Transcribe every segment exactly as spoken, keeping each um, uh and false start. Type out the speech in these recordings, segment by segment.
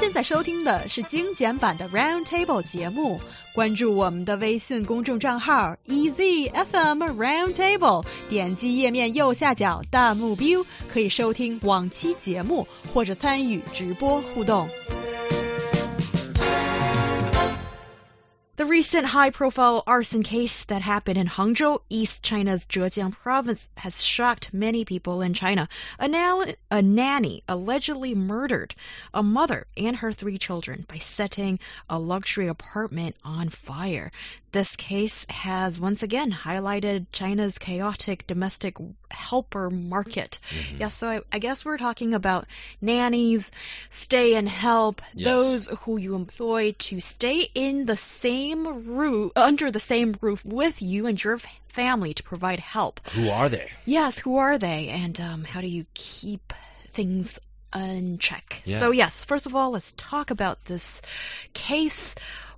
现在收听的是精简版的 Roundtable 节目，关注我们的微信公众账号 E Z F M Roundtable， 点击页面右下角弹幕 view， 可以收听往期节目或者参与直播互动。The recent high-profile arson case that happened in Hangzhou, East China's Zhejiang province, has shocked many people in China. A, na- a nanny allegedly murdered a mother and her three children by setting a luxury apartment on fire. This case has once again highlighted China's chaotic domestic helper market. Mm-hmm. Yeah, so I, I guess we're talking about nannies, stay and help, yes. Those who you employ to stay in the same roof, under the same roof with you and your family to provide help. Who are they? Yes, who are they? And um, how do you keep things in check? Yeah. So yes, first of all, let's talk about this case.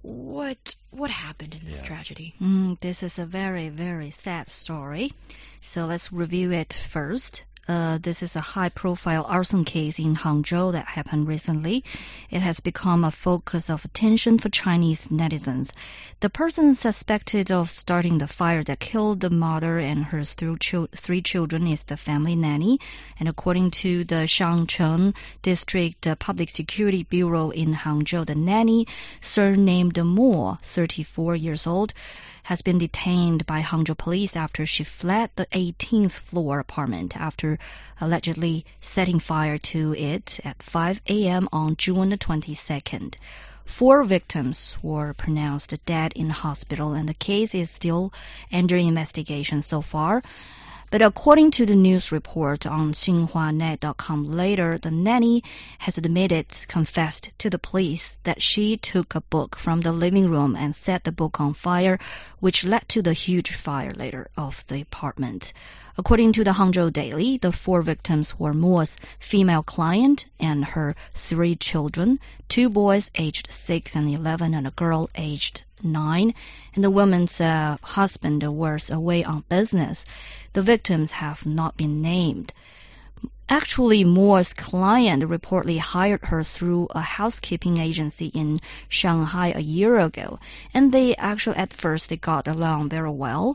What what happened in this yeah. tragedy? Mm, this is a very, very sad story. So let's review it first. Uh, this is a high-profile arson case in Hangzhou that happened recently. It has become a focus of attention for Chinese netizens. The person suspected of starting the fire that killed the mother and her three children is the family nanny. And according to the Shangcheng District Public Security Bureau in Hangzhou, the nanny, surnamed Mo, thirty-four years old, has been detained by Hangzhou police after she fled the eighteenth floor apartment after allegedly setting fire to it at five a.m. on June the twenty-second. Four victims were pronounced dead in hospital, and the case is still under investigation so far. But according to the news report on Xinhua Net dot com later, the nanny has admitted, confessed to the police that she took a book from the living room and set the book on fire, which led to the huge fire later of the apartment. According to the Hangzhou Daily, the four victims were Mo's female client and her three children, two boys aged six and eleven and a girl aged nine, and the woman's uh, husband was away on business. The victims have not been named. Actually, Mo's client reportedly hired her through a housekeeping agency in Shanghai a year ago, and they actually at first they got along very well.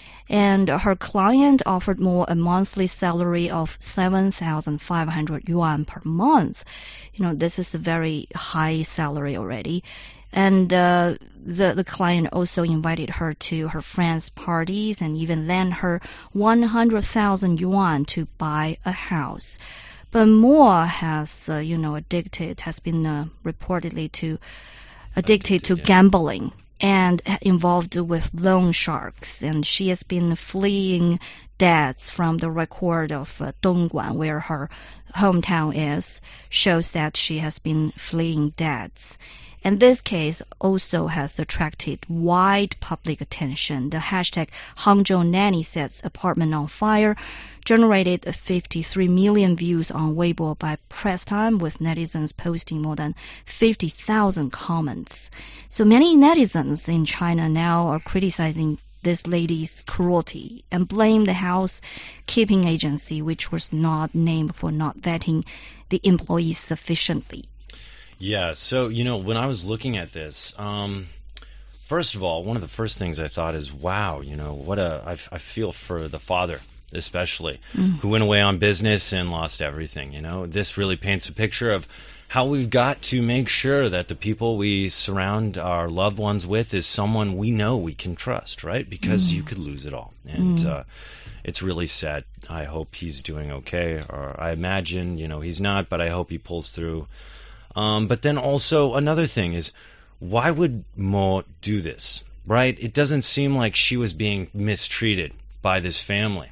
And her client offered Mo a monthly salary of seven thousand five hundred yuan per month. You know, this is a very high salary already. And uh, the, the client also invited her to her friends' parties and even lent her one hundred thousand yuan to buy a house. But Mo has, uh, you know, addicted, has been uh, reportedly to addicted, addicted to yeah. gambling and involved with loan sharks. And she has been fleeing debts from the record of uh, Dongguan, where her hometown is, shows that she has been fleeing debts. And this case also has attracted wide public attention. The hashtag Hangzhou Nanny Sets Apartment on Fire generated fifty-three million views on Weibo by press time, with netizens posting more than fifty thousand comments. So many netizens in China now are criticizing this lady's cruelty and blame the housekeeping agency, which was not named, for not vetting the employees sufficiently. Yeah, so, you know, when I was looking at this, um, first of all, one of the first things I thought is, wow, you know, what a, I, I feel for the father, especially, mm. who went away on business and lost everything, you know. This really paints a picture of how we've got to make sure that the people we surround our loved ones with is someone we know we can trust, right? Because mm. you could lose it all. And mm. uh, it's really sad. I hope he's doing okay, or I imagine, you know, he's not, but I hope he pulls through. Um, but then also another thing is, why would Mo do this, right? It doesn't seem like she was being mistreated by this family.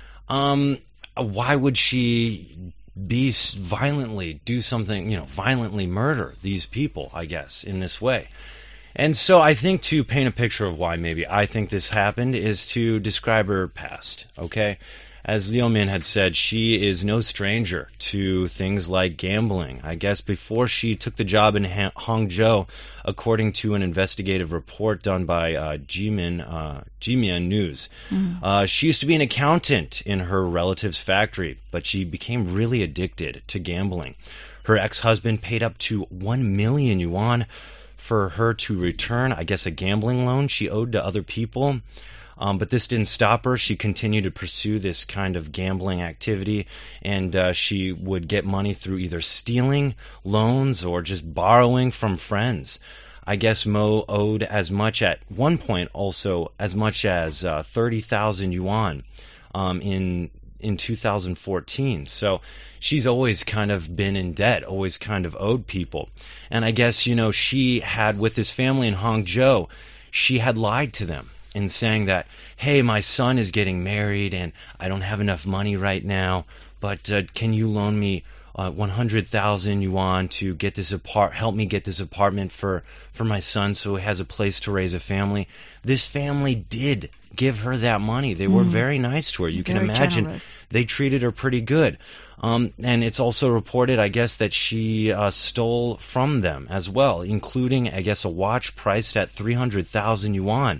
Um, why would she be violently, do something, you know, violently murder these people, I guess, in this way? And so I think to paint a picture of why maybe I think this happened is to describe her past, okay? As Liu Min had said, she is no stranger to things like gambling. I guess before she took the job in ha- Hangzhou, according to an investigative report done by uh, Jimin, uh, Jimian News, mm. uh, she used to be an accountant in her relative's factory, but she became really addicted to gambling. Her ex-husband paid up to one million yuan for her to return, I guess, a gambling loan she owed to other people. Um, but this didn't stop her. She continued to pursue this kind of gambling activity, and uh, she would get money through either stealing loans or just borrowing from friends. I guess Mo owed as much at one point, also as much as uh, thirty thousand yuan um, in in two thousand fourteen. So she's always kind of been in debt, always kind of owed people. And I guess, you know, she had, with this family in Hangzhou, she had lied to them in saying that, hey, my son is getting married and I don't have enough money right now, but uh, can you loan me uh, one hundred thousand yuan to get this apart, help me get this apartment for, for my son so he has a place to raise a family? This family did give her that money. They were mm. very nice to her. You very can imagine generous. They treated her pretty good. Um, and it's also reported, I guess, that she uh, stole from them as well, including, I guess, a watch priced at three hundred thousand yuan.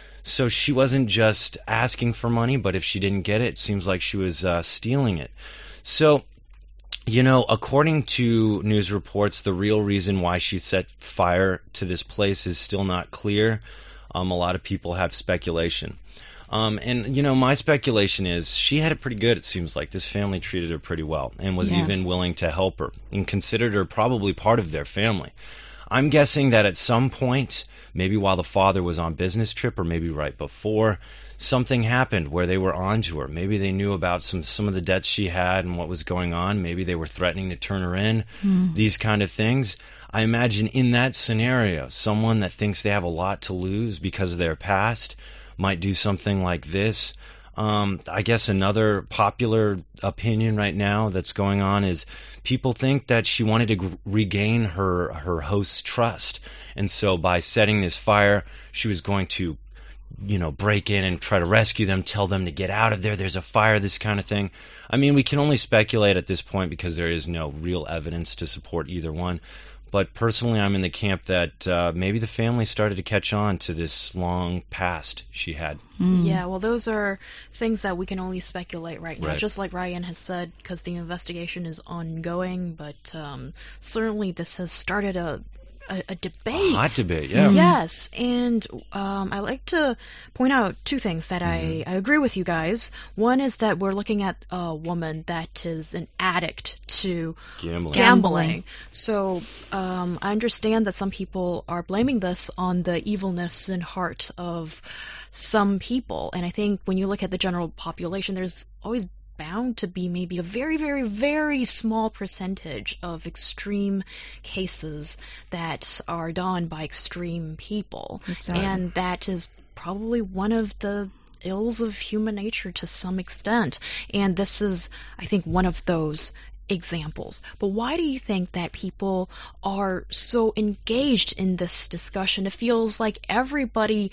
So she wasn't just asking for money, but if she didn't get it, it seems like she was uh, stealing it. So, you know, according to news reports, the real reason why she set fire to this place is still not clear. Um, a lot of people have speculation. Um, and, you know, my speculation is she had it pretty good, it seems like. This family treated her pretty well and was yeah. even willing to help her and considered her probably part of their family. I'm guessing that at some point, maybe while the father was on business trip or maybe right before, something happened where they were on to her. Maybe they knew about some, some of the debts she had and what was going on. Maybe they were threatening to turn her in, mm. these kind of things. I imagine in that scenario, someone that thinks they have a lot to lose because of their past might do something like this. Um, I guess another popular opinion right now that's going on is people think that she wanted to g- regain her her host's trust, and so by setting this fire, she was going to, you know, break in and try to rescue them, tell them to get out of there. There's a fire, this kind of thing. I mean, we can only speculate at this point because there is no real evidence to support either one. But personally, I'm in the camp that uh, maybe the family started to catch on to this long past she had. Mm. Yeah, well, those are things that we can only speculate right now, right. just like Ryan has said, because the investigation is ongoing. But um, certainly this has started a A, a debate. A hot debate, yeah. Yes, and um, I like to point out two things that mm-hmm. I, I agree with you guys. One is that we're looking at a woman that is an addict to gambling. gambling. So um, I understand that some people are blaming this on the evilness and heart of some people. And I think when you look at the general population, there's always bound to be maybe a very, very, very small percentage of extreme cases that are done by extreme people. Exactly. And that is probably one of the ills of human nature to some extent. And this is, I think, one of those examples. But why do you think that people are so engaged in this discussion? It feels like everybody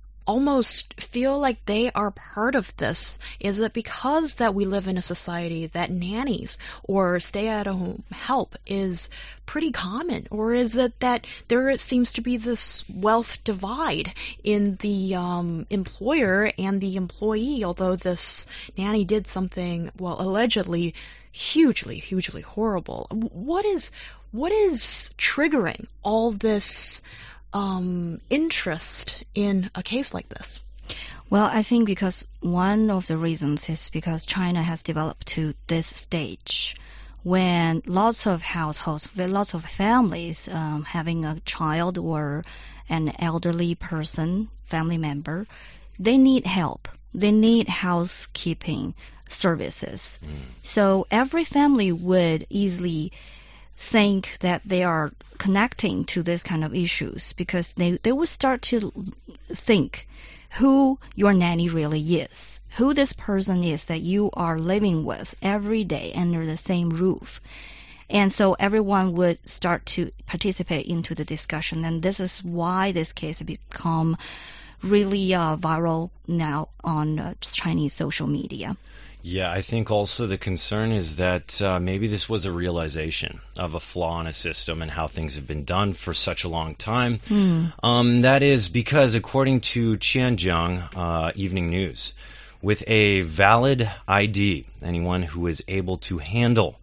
almost feel like they are part of this. Is it because that we live in a society that nannies or stay-at-home help is pretty common? Or is it that there seems to be this wealth divide in the um, employer and the employee, although this nanny did something, well, allegedly hugely, hugely horrible? What is, what is triggering all this Um, interest in a case like this? Well, I think because one of the reasons is because China has developed to this stage when lots of households, lots of families um, having a child or an elderly person, family member, they need help. They need housekeeping services. Mm. So every family would easily think that they are connecting to this kind of issues because they, they will start to think who your nanny really is, who this person is that you are living with every day under the same roof. And so everyone would start to participate into the discussion, and this is why this case has become really uh, viral now on uh, Chinese social media. Yeah, I think also the concern is that uh, maybe this was a realization of a flaw in a system and how things have been done for such a long time. Mm. Um, that is because, according to Qianjiang uh, Evening News, with a valid I D, anyone who is able to handle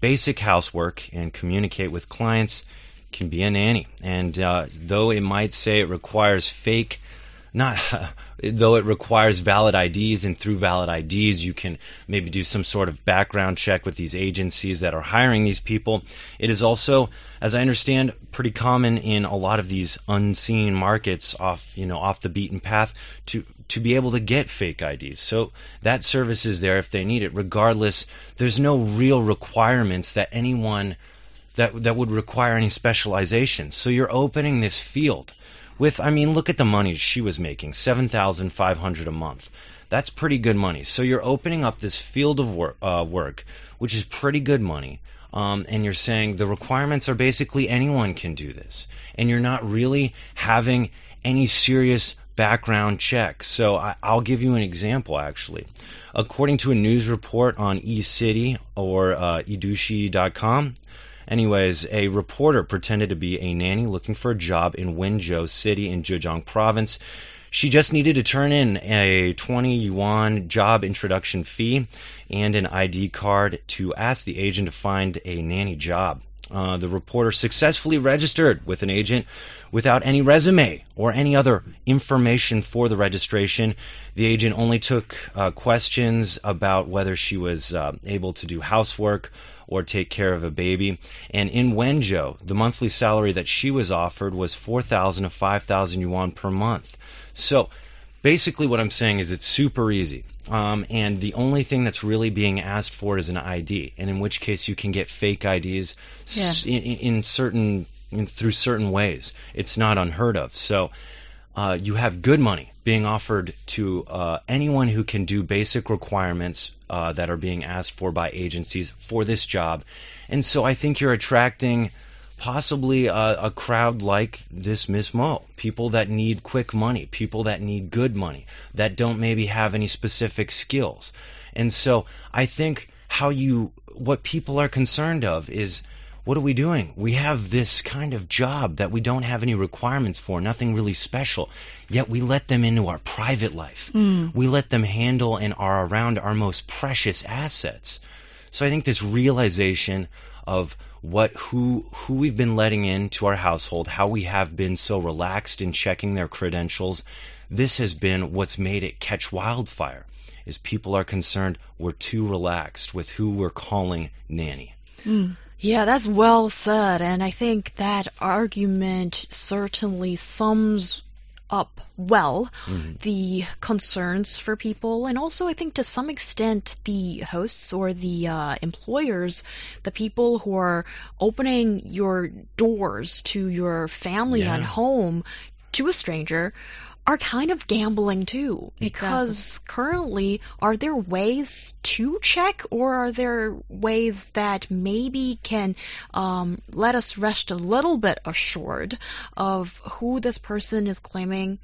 basic housework and communicate with clients can be a nanny. And uh, though it might say it requires fake, not though it requires valid I Ds, and through valid I Ds you can maybe do some sort of background check with these agencies that are hiring these people, it is also, as I understand, pretty common in a lot of these unseen markets off, you know, off the beaten path to to be able to get fake I Ds. So that service is there if they need it. Regardless, there's no real requirements that anyone that that would require any specialization. So you're opening this field with, I mean, look at the money she was making, seven thousand five hundred dollars a month. That's pretty good money. So you're opening up this field of work, uh, work which is pretty good money. Um, and you're saying the requirements are basically anyone can do this. And you're not really having any serious background checks. So I, I'll give you an example, actually. According to a news report on eCity or uh, edushi dot com, anyways, a reporter pretended to be a nanny looking for a job in Wenzhou City in Zhejiang Province. She just needed to turn in a twenty yuan job introduction fee and an I D card to ask the agent to find a nanny job. Uh, the reporter successfully registered with an agent without any resume or any other information for the registration. The agent only took uh, questions about whether she was uh, able to do housework or take care of a baby. And in Wenzhou, the monthly salary that she was offered was four thousand to five thousand yuan per month. So basically what I'm saying is it's super easy. Um, and the only thing that's really being asked for is an I D, and in which case you can get fake I Ds yeah. in, in certain in, through certain ways. It's not unheard of. So uh, you have good money being offered to uh, anyone who can do basic requirements uh, that are being asked for by agencies for this job. And so I think you're attracting possibly a, a crowd like this Miss Mo, people that need quick money, people that need good money, that don't maybe have any specific skills. And so I think how you, what people are concerned of is, what are we doing? We have this kind of job that we don't have any requirements for, nothing really special, yet we let them into our private life. Mm. We let them handle and are around our most precious assets. So I think this realization of what who who we've been letting into our household, how we have been so relaxed in checking their credentials, this has been what's made it catch wildfire, is people are concerned we're too relaxed with who we're calling nanny. Mm. Yeah, that's well said, and I think that argument certainly sums up well Mm-hmm. the concerns for people, and also I think to some extent the hosts or the uh, employers, the people who are opening your doors to your family Yeah. and home to a stranger, are kind of gambling too, because currently, are there ways to check, or are there ways that maybe can um, let us rest a little bit assured of who this person is claiming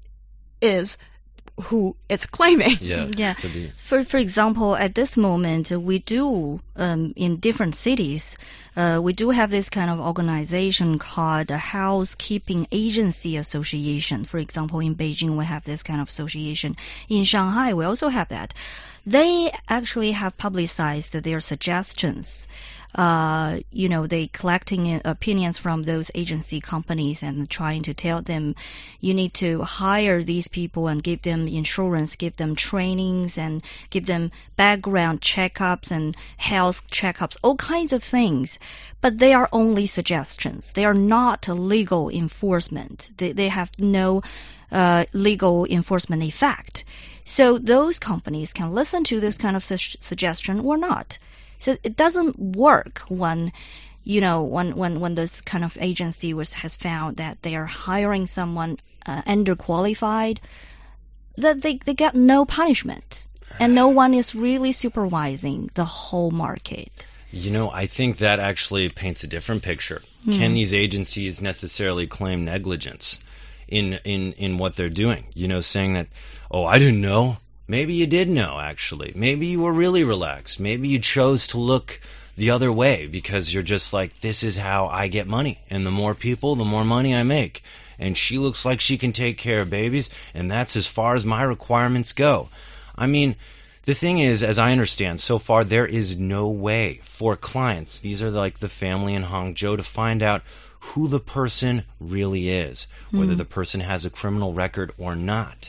is who it's claiming? Yeah. Yeah. To be. For for example, at this moment, we do um, in different cities, uh, we do have this kind of organization called the Housekeeping Agency Association. For example, in Beijing, we have this kind of association. In Shanghai, we also have that. They actually have publicized their suggestions. Uh, you know, they collecting opinions from those agency companies and trying to tell them, you need to hire these people and give them insurance, give them trainings, and give them background checkups and health checkups, all kinds of things. But they are only suggestions. They are not legal enforcement. They, they have no uh, legal enforcement effect. So those companies can listen to this kind of su- suggestion or not. So it doesn't work when, you know, when, when, when this kind of agency was, has found that they are hiring someone uh, underqualified, that they, they get no punishment. And no one is really supervising the whole market. You know, I think that actually paints a different picture. Mm. Can these agencies necessarily claim negligence in, in, in what they're doing? You know, saying that, oh, I didn't know. Maybe you did know, actually. Maybe you were really relaxed. Maybe you chose to look the other way because you're just like, this is how I get money. And the more people, the more money I make. And she looks like she can take care of babies, and that's as far as my requirements go. I mean, the thing is, as I understand, so far there is no way for clients, these are like the family in Hangzhou, to find out who the person really is, whether Mm. the person has a criminal record or not.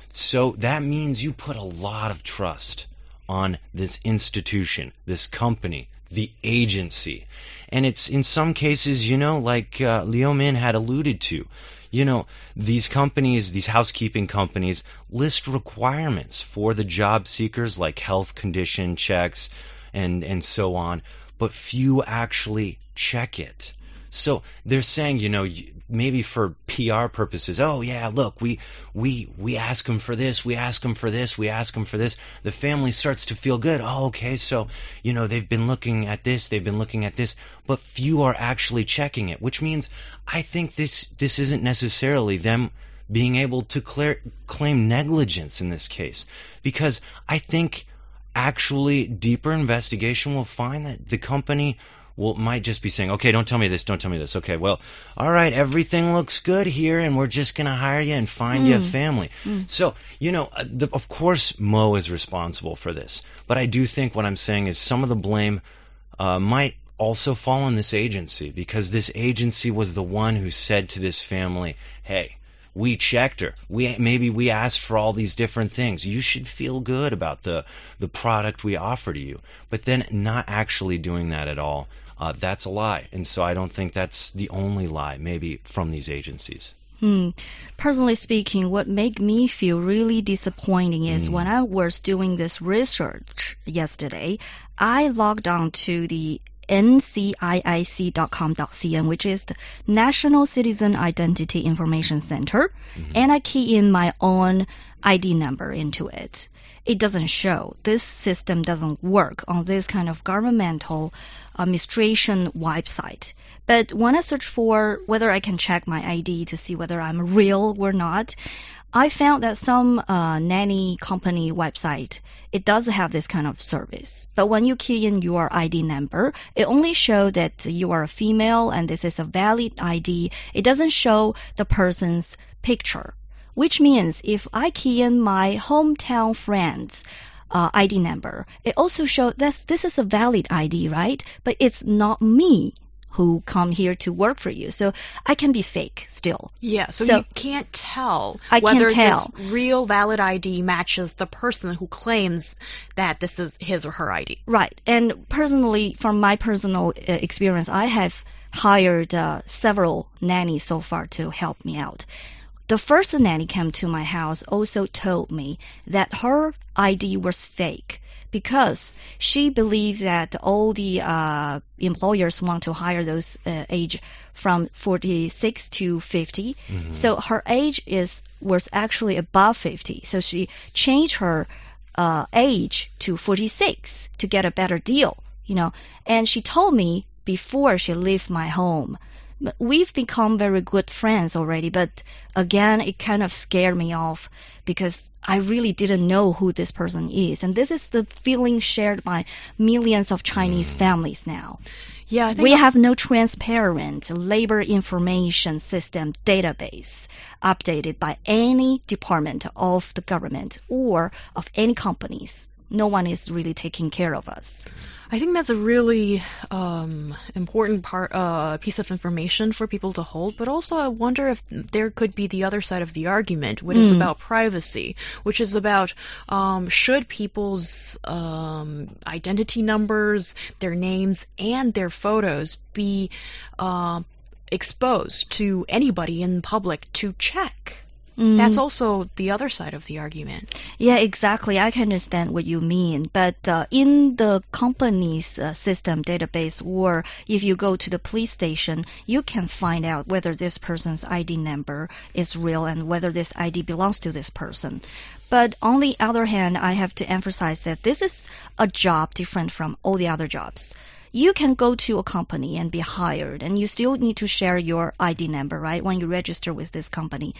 So that means you put a lot of trust on this institution, this company, the agency. And it's in some cases, you know, like uh, Liu Min had alluded to, you know, these companies, these housekeeping companies, list requirements for the job seekers like health condition checks and, and so on, but few actually check it. So they're saying, you know, maybe for P R purposes, oh yeah, look, we we we ask them for this, we ask them for this, we ask them for this. The family starts to feel good. Oh, okay, so you know they've been looking at this, they've been looking at this, but few are actually checking it. Which means I think this this isn't necessarily them being able to clear, claim negligence in this case, because I think actually deeper investigation will find that the company well, might just be saying, okay, don't tell me this, don't tell me this. Okay, well, all right, everything looks good here, and we're just going to hire you and find Mm. you a family. Mm. So, you know, uh, the, of course Mo is responsible for this, but I do think what I'm saying is some of the blame uh, might also fall on this agency, because this agency was the one who said to this family, hey, we checked her. We maybe we asked for all these different things. You should feel good about the the product we offer to you. But then not actually doing that at all, uh, that's a lie. And so I don't think that's the only lie, maybe from these agencies. Hmm. Personally speaking, what made me feel really disappointing is Mm. when I was doing this research yesterday, I logged on to the N C I I C dot com dot C N, which is the National Citizen Identity Information Center, Mhm. and I key in my own I D number into it. It doesn't show. This system doesn't work on this kind of governmental administration website. But when I search for whether I can check my I D to see whether I'm real or not, I found that some uh, nanny company website, it does have this kind of service. But when you key in your I D number, it only shows that you are a female and this is a valid I D. It doesn't show the person's picture, which means if I key in my hometown friend's uh, I D number, it also shows that this is a valid I D, right? But it's not me who come here to work for you. So I can be fake still. Yeah, so, So- you can't tell I can't whether tell. this real valid I D matches the person who claims that this is his or her I D. Right. And personally, from my personal uh, experience, I have hired uh, several nannies so far to help me out. The first nanny came to my house also told me that her I D was fake because she believed that all the uh, employers want to hire those uh, age from forty-six to fifty. Mhm. So her age is was actually above fifty. So she changed her uh, age to forty-six to get a better deal, you know. And she told me before she left my home. But we've become very good friends already, but again, it kind of scared me off because I really didn't know who this person is. And this is the feeling shared by millions of Chinese Mm. families now. Yeah, I think We have no transparent labor information system database updated by any department of the government or of any companies. No one is really taking care of us. I think that's a really um, important part, uh, piece of information for people to hold. But also, I wonder if there could be the other side of the argument, which is Mm. about privacy, which is about um, should people's um, identity numbers, their names, and their photos be uh, exposed to anybody in public to check. Mm. That's also the other side of the argument. Yeah, exactly. I can understand what you mean. But uh, in the company's uh, system database, or if you go to the police station, you can find out whether this person's I D number is real and whether this I D belongs to this person. But on the other hand, I have to emphasize that this is a job different from all the other jobs. You can go to a company and be hired, and you still need to share your I D number, right, when you register with this company.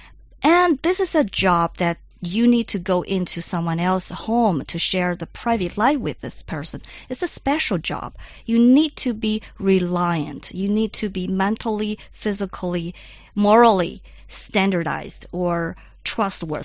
And this is a job that you need to go into someone else's home to share the private life with this person. It's a special job. You need to be reliant. You need to be mentally, physically, morally standardized or trustworthy.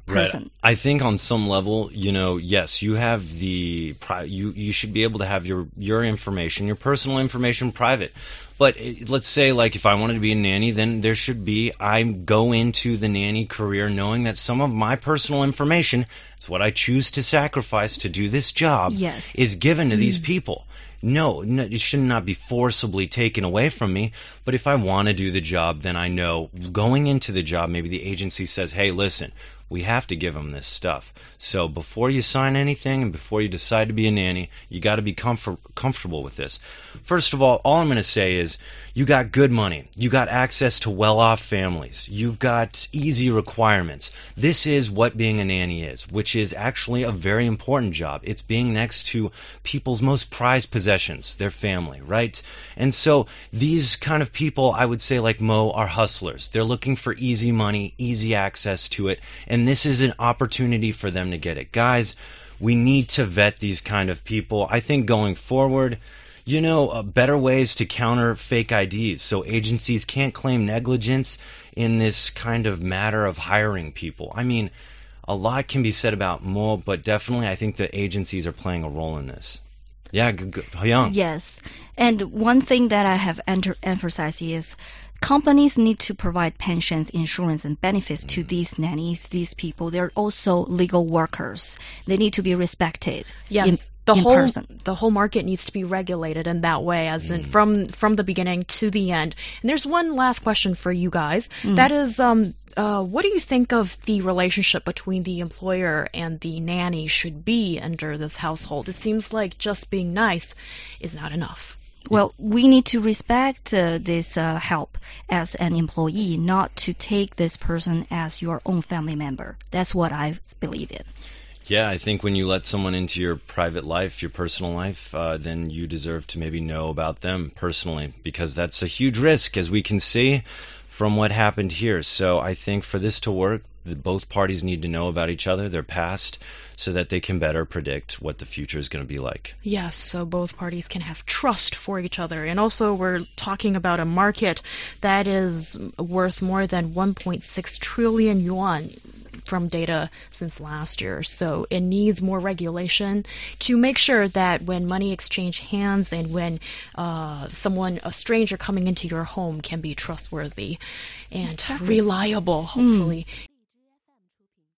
person. Right. I think on some level, you know, yes, you have the pri- you you should be able to have your your information, your personal information private. But it, let's say, like, if I wanted to be a nanny, then there should be, I go into the nanny career knowing that some of my personal information, it's what I choose to sacrifice to do this job, yes. is given to mm. these people. No, no, it should not be forcibly taken away from me. But if I want to do the job, then I know going into the job, maybe the agency says, hey, listen, we have to give them this stuff. So before you sign anything and before you decide to be a nanny, you got to be comfort- comfortable with this. First of all, all I'm going to say is you got good money. You got access to well-off families. You've got easy requirements. This is what being a nanny is, which is actually a very important job. It's being next to people's most prized possessions, their family, right? And so these kind of people, I would say, like Mo, are hustlers. They're looking for easy money, easy access to it, and this is an opportunity for them to get it. Guys, we need to vet these kind of people. I think going forward, you know, uh, better ways to counter fake I Ds so agencies can't claim negligence in this kind of matter of hiring people. I mean, a lot can be said about Mo, but definitely I think the agencies are playing a role in this. Yeah, g- g- Hyung. Yes. And one thing that I have enter- emphasized is companies need to provide pensions, insurance, and benefits to these nannies, these people. They're also legal workers. They need to be respected. Yes. In, the in whole person. the whole market needs to be regulated in that way, as in from from the beginning to the end. And there's one last question for you guys. Mm. That is, um, uh, what do you think of the relationship between the employer and the nanny should be under this household? It seems like just being nice is not enough. Well, we need to respect uh, this uh, help as an employee, not to take this person as your own family member. That's what I believe in. Yeah, I think when you let someone into your private life, your personal life, uh, then you deserve to maybe know about them personally, because that's a huge risk, as we can see from what happened here. So I think for this to work, the, both parties need to know about each other, their past, so that they can better predict what the future is going to be like. Yes, so both parties can have trust for each other. And also we're talking about a market that is worth more than one point six trillion yuan from data since last year. So it needs more regulation to make sure that when money exchange hands and when uh, someone, a stranger coming into your home, can be trustworthy and Exactly. reliable, hopefully. Mm.